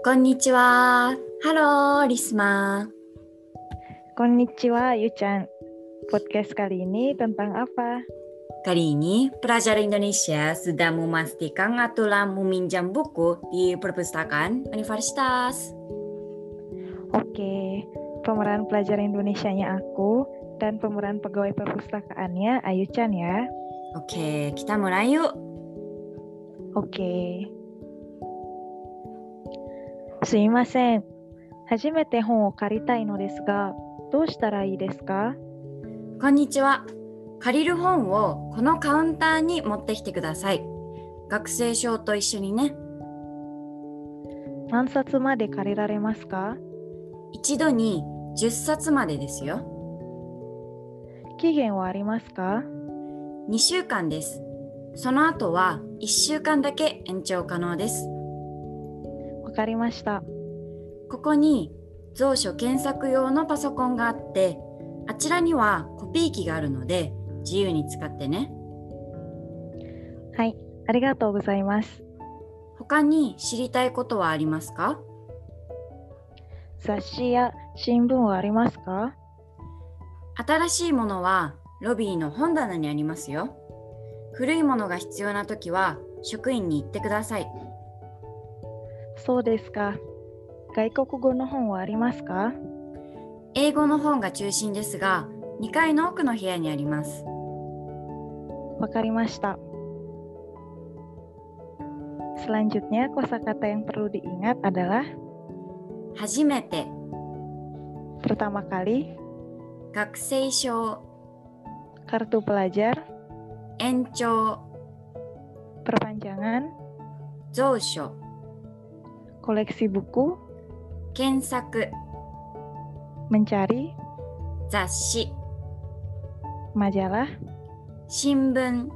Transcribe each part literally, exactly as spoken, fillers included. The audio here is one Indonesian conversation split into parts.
Konnichiwa. Halo, Risma. Konnichiwa, Yu-chan. Podcast kali ini tentang apa? Kali ini, pelajar Indonesia sedang memastikan aturan meminjam buku di perpustakaan universitas. Oke, pemeran pelajar Indonesianya aku dan pemeran pegawai perpustakaannya Ayu-chan ya. Oke, kita mulai yuk. Oke. Sumimasen. Hajimete hon o karitai no desu ga, dou shitara ii desu ka? こんにちは。借りる本をこのカウンターに持ってきてください。学生証と一緒にね。 何冊まで借りられますか？ 一度にじゅっさつまでですよ。 期限はありますか？ にしゅうかんです。その後はいっしゅうかんだけ延長可能です。 わかりました。 ここに蔵書検索用のパソコンがあって、あちらにはコピー機があるので自由に使ってね。 はい、ありがとうございます。 他に知りたいことはありますか？ 雑誌や新聞はありますか？ 新しいものはロビーの本棚にありますよ。古いものが必要なときは職員に言ってください。 そうですか。外国語の本はありますか？ 英語の本が中心ですが、にかいの奥の部屋にあります。 わかりました。Selanjutnya, kosakata yang perlu diingat adalah 初めて、 pertama kali, 学生証、 kartu pelajar, 延長、 perpanjangan, 蔵書、 koleksi buku, 検索、 mencari, 雑誌、 majalah, 新聞、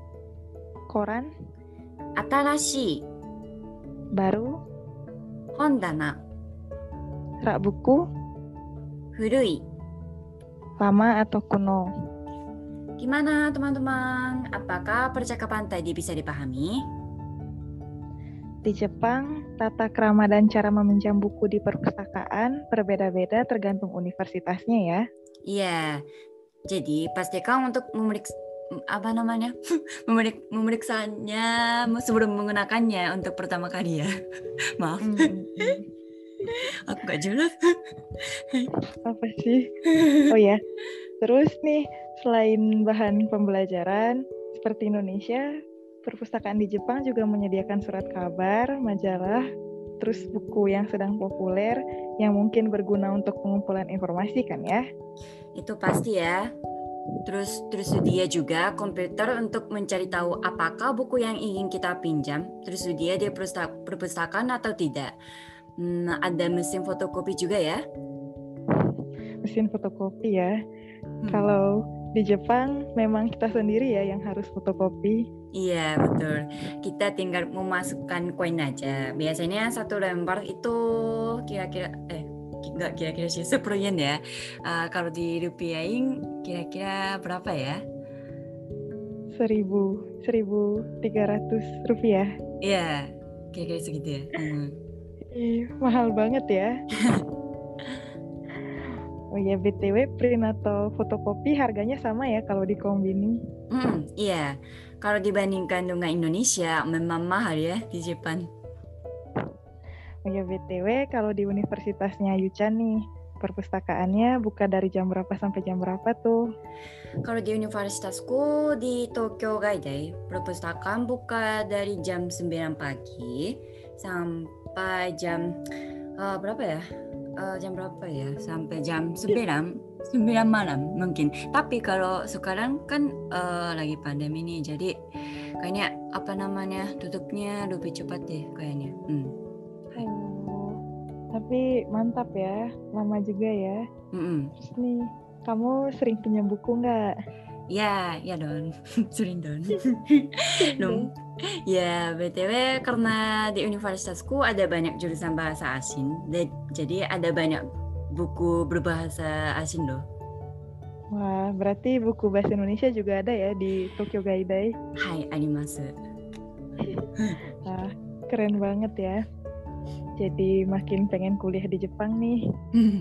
koran, 新しい、 baru, 本棚、 rak buku, 古い。 lama atau kuno. Gimana teman-teman? Apakah percakapan tadi bisa dipahami? Di Jepang, tata krama dan cara meminjam buku di perpustakaan berbeda-beda tergantung universitasnya ya. Iya. Jadi pastikan untuk memeriksa apa namanya? Memerik, memeriksanya sebelum menggunakannya untuk pertama kali ya. Maaf. Hmm. Aku gak jelas. Apa sih? Oh ya, terus nih selain bahan pembelajaran seperti Indonesia, perpustakaan di Jepang juga menyediakan surat kabar, majalah, terus buku yang sedang populer yang mungkin berguna untuk pengumpulan informasi kan ya? Itu pasti ya. Terus tersedia juga komputer untuk mencari tahu apakah buku yang ingin kita pinjam tersedia di perpustakaan atau tidak. Hmm, ada mesin fotokopi juga ya. Mesin fotokopi ya. Hmm. Kalau di Jepang memang kita sendiri ya yang harus fotokopi. Iya betul. Kita tinggal memasukkan koin aja. Biasanya satu lembar itu kira-kira eh nggak kira-kira sih sepuluh yen ya. Uh, kalau dirupiahin kira-kira berapa ya? Seribu, seribu tiga ratus rupiah. Iya, kira-kira segitu ya. Hmm. Ih, mahal banget ya. Oh ya, B T W print atau fotokopi harganya sama ya kalau di kombini? Hmm, iya. Kalau dibandingkan dengan Indonesia memang mahal ya di Jepang. Oh ya, B T W kalau di universitasnya Yu-chan nih, perpustakaannya buka dari jam berapa sampai jam berapa tuh? Kalau di universitasku di Tokyo Gaidai, perpustakaan buka dari jam sembilan pagi sampai jam uh, berapa ya? Uh, jam berapa ya? Sampai jam sembilan, sembilan malam mungkin. Tapi kalau sekarang kan uh, lagi pandemi nih, jadi kayaknya apa namanya tutupnya lebih cepat deh kayaknya. Hmm. Oh, tapi mantap ya, lama juga ya. Mm-mm. Terus nih, kamu sering pinjam buku nggak? Ya, ya don, sering don. Sering dong. Ya, B T W karena di universitasku ada banyak jurusan bahasa asing, jadi ada banyak buku berbahasa asing loh. Wah, berarti buku bahasa Indonesia juga ada ya di Tokyo Gaidai? Hai, arimasu. Wah, keren banget ya. jadi makin pengen kuliah di Jepang nih.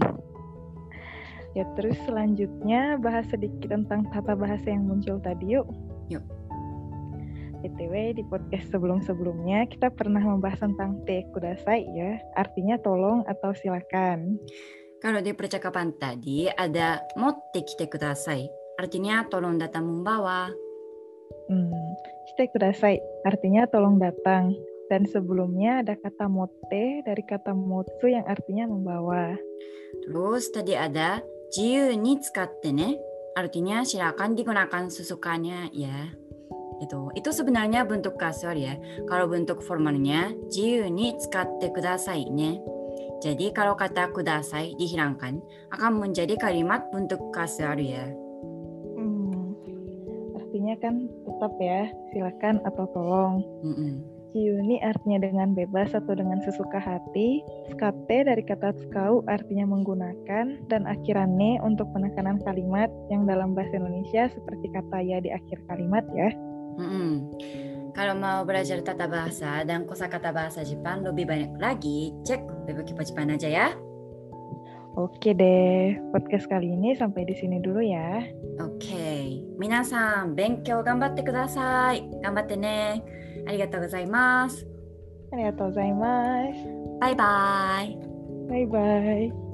Ya terus selanjutnya bahas sedikit tentang tata bahasa yang muncul tadi yuk. Yuk. B T W di podcast sebelum-sebelumnya kita pernah membahas tentang te kudasai ya, artinya tolong atau silakan. Kalau di percakapan tadi ada motte kite kudasai, artinya tolong datang membawa. Hmm, shite kudasai, artinya tolong datang. Dan sebelumnya ada kata motte dari kata motsu yang artinya membawa. Terus tadi ada jiyu ni tsukatte ne, artinya silakan digunakan sesukanya ya. Itu itu sebenarnya bentuk kasual ya. Kalau bentuk formalnya jiyu ni tsukatte kudasai ne. Jadi kalau kata kudasai dihilangkan akan menjadi kalimat bentuk kasual ya. Hmm, artinya kan tetap ya silakan atau tolong. Mm-mm. Jiuni artinya dengan bebas atau dengan sesuka hati, tsukate dari kata tsukau artinya menggunakan, dan akirane untuk penekanan kalimat yang dalam bahasa Indonesia seperti kata ya di akhir kalimat ya. Mm-mm. Kalau mau belajar tata bahasa dan kosakata bahasa Jepang lebih banyak lagi, cek web Kipo Jepang aja ya. Oke deh, podcast kali ini sampai di sini dulu ya. Oke, minasan, benkyou ganbatte kudasai. Ganbatte ne. Arigatou gozaimasu. Arigatou gozaimasu. Bye bye. Bye bye.